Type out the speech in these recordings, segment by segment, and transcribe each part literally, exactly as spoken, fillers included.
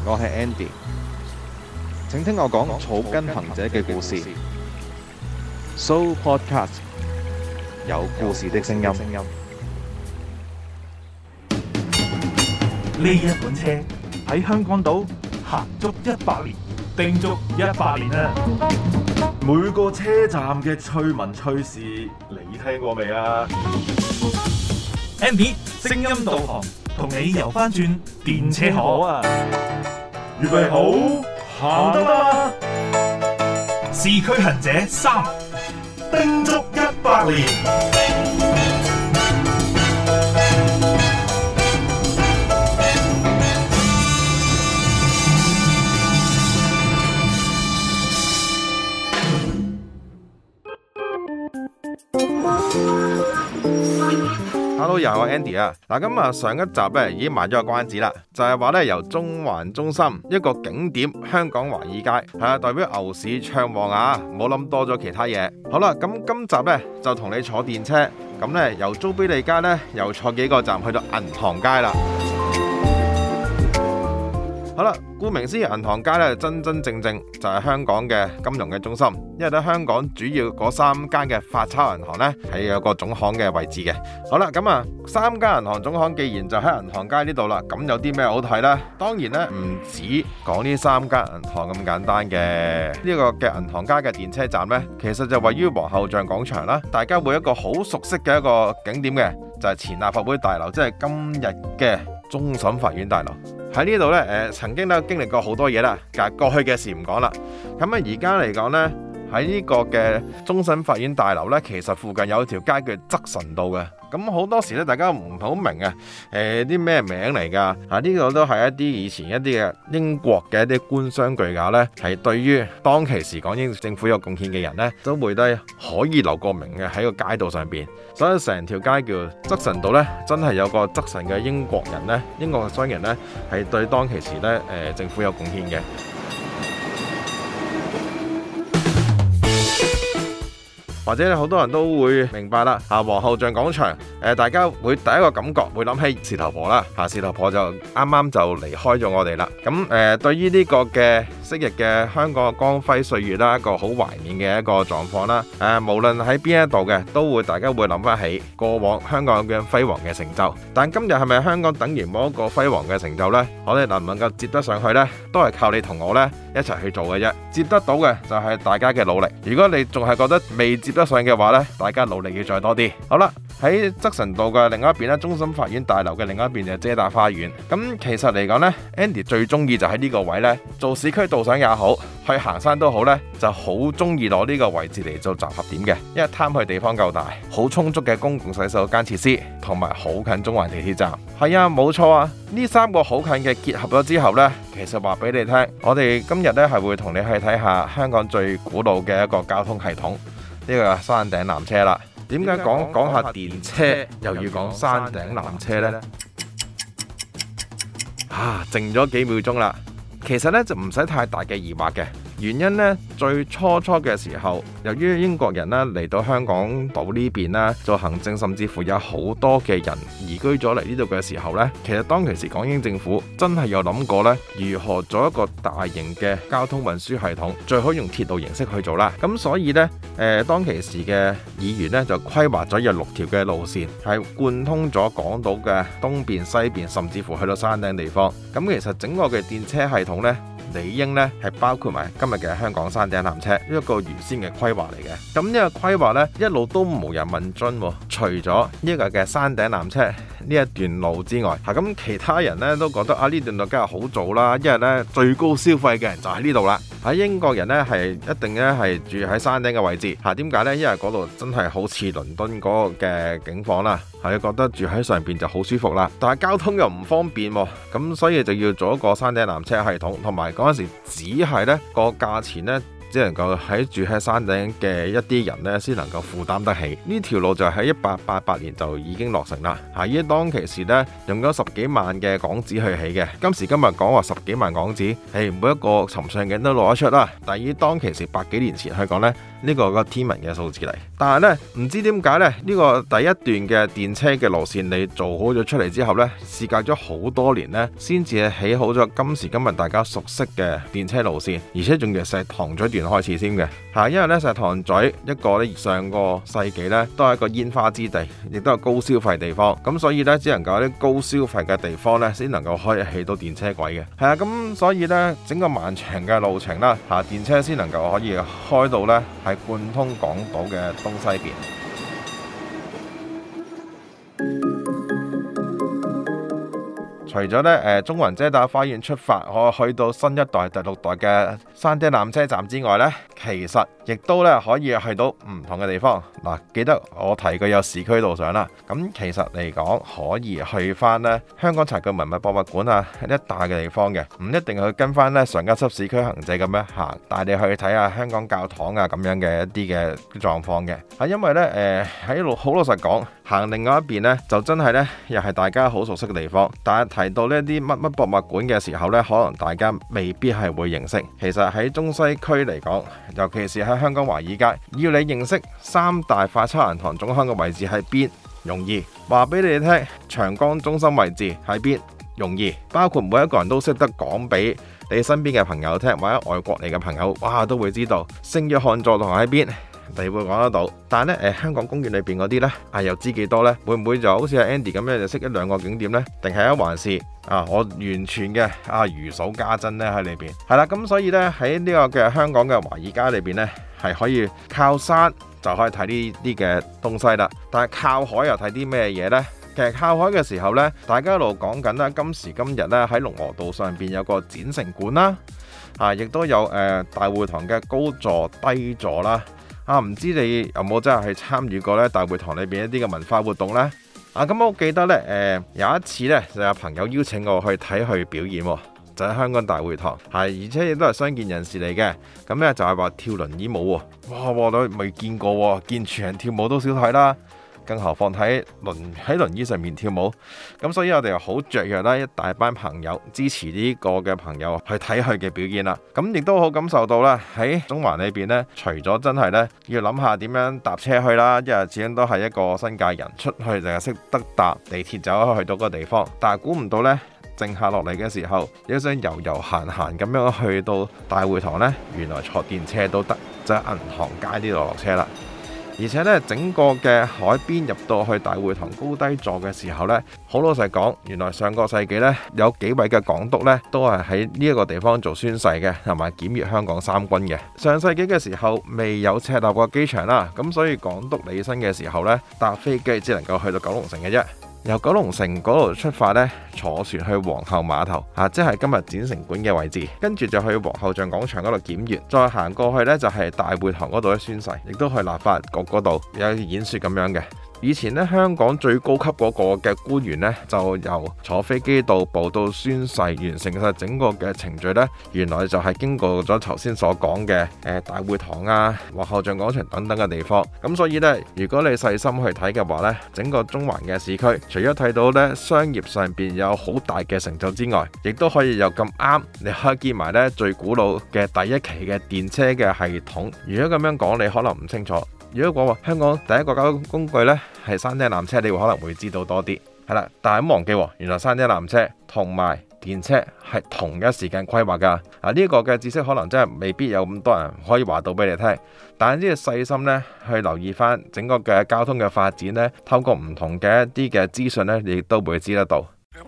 我係 Andy，請聽我講草根行者嘅故事。So Podcast 有故事的聲音。 呢一款車喺香港島行足一百年，定足一百年啦！每個車站嘅趣聞趣事，你聽過未啊 ？Andy 聲音導航，同你遊翻轉電車河啊！預備好，行得啦！市區行者三，定足一百年。 Hello， 又係我 Andy 啊！嗱，咁啊上一集咧已經賣咗個關子啦，就係話咧由中環中心一個景點香港華爾街係啊，代表牛市暢旺啊，唔好諗多咗其他嘢。好啦，咁今集咧就同你坐電車，咁咧由租庇利街咧又坐幾個站去到銀行街啦。好啦，顧名思義，銀行街咧真真正正就係香港嘅金融嘅中心，因為咧香港主要嗰三間嘅發鈔銀行咧係有個總行嘅位置嘅。好啦，咁啊三間銀行總行既然就喺銀行街呢度啦，咁有啲咩好睇呢？當然咧唔止講呢三間銀行咁簡單嘅。呢個嘅銀行街嘅電車站呢，其實就位於皇后像廣場啦，大家會一個好熟悉嘅一個景點嘅，就係前立法會大樓，即係今日嘅終審法院大樓。喺呢度呢，誒、呃、曾經都經歷過好多嘢啦，但係過去嘅事唔講啦。咁啊，而家嚟講呢，喺呢個嘅終審法院大樓呢，其實附近有條街叫側臣道嘅。咁好多時咧，大家唔好明啊，誒啲咩名嚟㗎？啊，呢個都係一啲以前一啲嘅英國嘅一啲官商巨賈呢，係對於當其時港英政府有貢獻嘅人呢，都會得可以留個名嘅喺個街道上邊。所以成條街叫側臣道呢，真係有個側臣嘅英國人呢，英國嘅商人呢，係對當其時呢誒、呃、政府有貢獻嘅。或者好多人都會明白啦，啊皇后像廣場，誒大家會第一個感覺會諗起事頭婆啦，嚇事頭婆就啱啱就離開咗我哋啦。咁誒對於呢個嘅昔日嘅香港嘅光輝歲月啦，一個好懷念嘅一個狀況啦。誒無論喺邊一度嘅，都會大家會諗翻起過往香港嘅輝煌嘅成就。但今日係咪香港等於冇一個輝煌嘅成就呢？我哋能唔能夠接得上去呢？都係靠你同我呢一齊去做嘅啫。接得到嘅就係大家嘅努力。如果你仲係覺得未接得上嘅話呢，大家努力要再多啲。好啦，喺側臣道嘅另一邊呢，終審法院大樓嘅另一邊就係遮打花園。咁其實嚟講呢， Andy 最中意就喺呢個位呢，做市區導賞也好，去行山都好呢，就好中意攞呢個位置嚟做集合點嘅，因為貪佢地方夠大，好充足嘅公共洗手間設施，同埋好近中環地鐵站。係啊，冇錯啊，呢三個好近嘅結合咗之後呢，其實話俾你聽，我哋今日呢係會同你去睇下香港最古老嘅一個交通系統。呢個山頂纜車啦，點解講講下電車又要講山頂纜車呢？啊，靜咗幾秒鐘啦，其實呢就唔使太大嘅疑惑嘅。原因呢，最初初嘅時候，由於英國人呢嚟到香港島呢邊啦做行政，甚至乎有好多嘅人移居咗嚟呢度嘅時候呢，其實當其時港英政府真係有諗過呢，如何做一個大型嘅交通運輸系統，最好用鐵路形式去做啦。咁所以呢，誒、呃、當其時嘅議員呢，就規劃咗有六條嘅路線，係貫通咗港島嘅東邊、西邊，甚至乎去到山頂地方。咁其實整個嘅電車系統呢，理應咧係包括埋今日嘅香港山頂纜車一個原先嘅規劃嚟嘅。咁呢個規劃呢，一路都無人問津，除咗呢個嘅山頂纜車呢一段路之外，嚇咁其他人呢都覺得啊呢段路梗係好做啦，因為呢最高消費嘅人就喺呢度啦。喺英國人呢係一定咧係住喺山頂嘅位置嚇，點解呢？因為嗰度真係好似倫敦嗰個嘅景況啦，係覺得住喺上邊就好舒服啦。但係交通又唔方便喎，咁所以就要做一個山頂纜車系統，同埋嗰陣時只係呢個價錢呢只能夠喺住喺山頂嘅一啲人呢先能夠負擔得起。呢條路就喺一八八八年就已經落成啦。嚇，依當其時呢，用咗十幾萬嘅港紙去起嘅。今時今日講話十幾萬港紙，誒每一個尋上鏡都攞得出啦。但係依當其時百幾年前去講呢，呢個個天文嘅數字嚟。但係呢，唔知點解呢，呢個第一段嘅電車嘅路線你做好咗出嚟之後呢，事隔咗好多年呢，先至起好咗今時今日大家熟悉嘅電車路線，而且仲要石塘咀段開始先嘅嚇。因為呢，石塘咀一個呢上個世紀呢都係一個煙花之地，亦都係高消費地方，咁所以呢，只能夠啲高消費嘅地方呢，先能夠可以起到電車軌嘅。係啊，咁所以呢，整個漫長嘅路程啦嚇，電車先能夠可以開到呢係貫通港島嘅東西邊。除咗咧誒中環遮打花園出發，可去到新一代第六代嘅山頂纜車站之外呢，其實亦都咧可以去到唔同嘅地方。嗱，記得我提過有市區導賞啦。咁其實嚟講，可以去翻呢香港殘舊文物博物館啊一帶嘅地方嘅，唔一定去跟翻呢上一輯市區行者咁樣行，帶你去睇下香港教堂啊咁樣嘅一啲嘅狀況嘅。啊，因為呢誒喺好老實講，行另外一邊呢，就真係呢又係大家好熟悉嘅地方，但係提到呢啲乜乜博物館嘅時候呢，可能大家未必係會認識。其實喺中西區嚟講，尤其是喺香港華爾街，要你認識三大快測銀行總行嘅位置喺邊，容易話俾你聽。長江中心位置喺邊，容易，包括每一個人都識得講俾你身邊嘅朋友聽，或者外國嚟嘅朋友，哇都會知道聖約翰座堂喺邊。你會講得到，但係咧誒、呃、香港公園裏邊嗰啲呢，啊又知幾多呢？會唔會就好似阿 Andy 咁樣就識一兩個景點呢？定係一還是啊我完全嘅啊如數家珍呢喺裏邊？係啦，咁所以呢，喺呢個嘅香港嘅華爾街裏邊呢，係可以靠山就可以睇呢啲嘅東西啦。但係靠海又睇啲咩嘢呢？其實靠海嘅時候呢，大家一路講緊啦，今時今日呢，喺龍和道上邊有個展城館啦，啊亦都有誒、呃、大會堂嘅高座低座啦。啊，唔知你有冇真係去參與過咧大會堂裏邊一啲嘅文化活動呢？啊，咁我記得呢，誒、呃、有一次呢，就有朋友邀請我去睇佢表演，就喺香港大會堂，係而且亦都係傷健人士嚟嘅。咁呢，就係話跳輪椅舞喎，哇！我都未見過喎，見全人跳舞都少睇啦。更何況喺輪喺輪椅上面跳舞，咁所以我哋又好雀躍啦，一大班朋友支持呢個嘅朋友去睇佢嘅表演啦。咁亦都好感受到啦，喺中環裏邊呢，除咗真係呢要諗下點樣搭車去啦，因為始終都係一個新界人出去淨係識得搭地鐵就可以去到個地方，但係估唔到呢，靜下落嚟嘅時候，有想遊遊閒閒咁樣去到大會堂呢，原來坐電車都得，就喺銀行街呢度落車啦。而且咧，整個嘅海邊入到去大會堂高低座嘅時候呢，好老實講，原來上個世紀呢，有幾位嘅港督呢都係喺呢一個地方做宣誓嘅，同埋檢閱香港三軍嘅。上世紀嘅時候未有赤鱲角機場啦，咁所以港督履新嘅時候呢，搭飛機只能夠去到九龍城嘅啫。由九龍城嗰度出發呢，坐船去皇后碼頭啊，即係今日展城館嘅位置，跟住就去皇后像廣場嗰度檢閱，再行過去呢，就係大會堂嗰度宣誓，亦都去立法局嗰度有演說咁樣嘅。以前咧，香港最高級嗰個嘅官員咧，就由坐飛機到埗到宣誓，完成晒整個嘅程序咧，原來就係經過咗頭先所講嘅誒大會堂啊、皇后像廣場等等嘅地方。咁所以咧，如果你細心去睇嘅話咧，整個中環嘅市區，除咗睇到咧商業上邊有好大嘅成就之外，亦都可以有咁啱，你可以見埋咧最古老嘅第一期嘅電車嘅系統。如果咁樣講，你可能唔清楚。如果講話香港第一個交通工具呢係山頂纜車，你會可能會知道多啲，係啦。但係唔忘記，原來山頂纜車同埋電車係同一時間規劃㗎。啊，呢個嘅知識可能真係未必有咁多人可以話到俾你聽，但係呢個細心呢去留意翻整個嘅交通嘅發展呢，透過唔同嘅一啲嘅資訊呢，你亦都會知得到。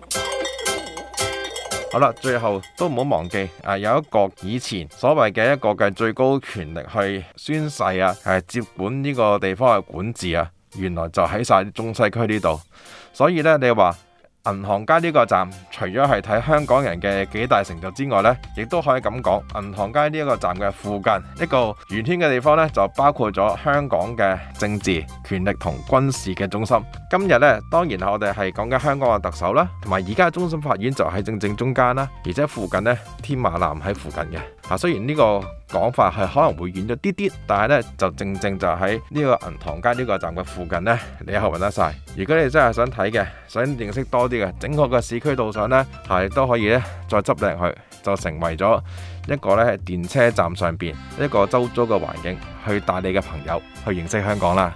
好啦，最後都唔好忘記啊，有一個以前所謂嘅一個嘅最高權力去宣誓啊，係接管呢個地方嘅管治啊，原來就喺晒中西區呢度。所以呢，你話銀行街呢個站除咗係睇香港人嘅幾大成就之外呢，亦都可以咁講，銀行街呢一個站嘅附近一個圓圈嘅地方呢，就包括咗香港嘅政治、權力同軍事嘅中心。今日呢，當然我哋係講緊香港嘅特首啦，同埋而家嘅終審法院就喺正正中間啦，而且附近呢，天馬南喺附近嘅。啊，雖然呢個講法係可能會遠咗啲啲，但係呢，就正正就喺呢個銀行街呢個站嘅附近呢，你可以揾得晒。如果你真係想睇嘅，想認識多啲嘅整個嘅市區導賞呢，係都可以呢，再執靚佢，就成為咗一個呢電車站上邊一個周遭嘅環境，去帶你嘅朋友去認識香港啦。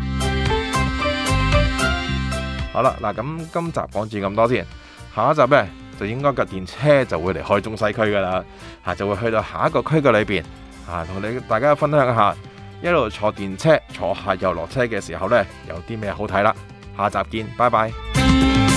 好啦，嗱咁今集講住咁多先，下一集呢，就應該架電車就會離開中西區噶啦，嚇就會去到下一個區嘅裏邊，嚇同你大家分享一下，一路坐電車坐下又落車嘅時候呢，有啲咩好睇啦。下集見，拜拜。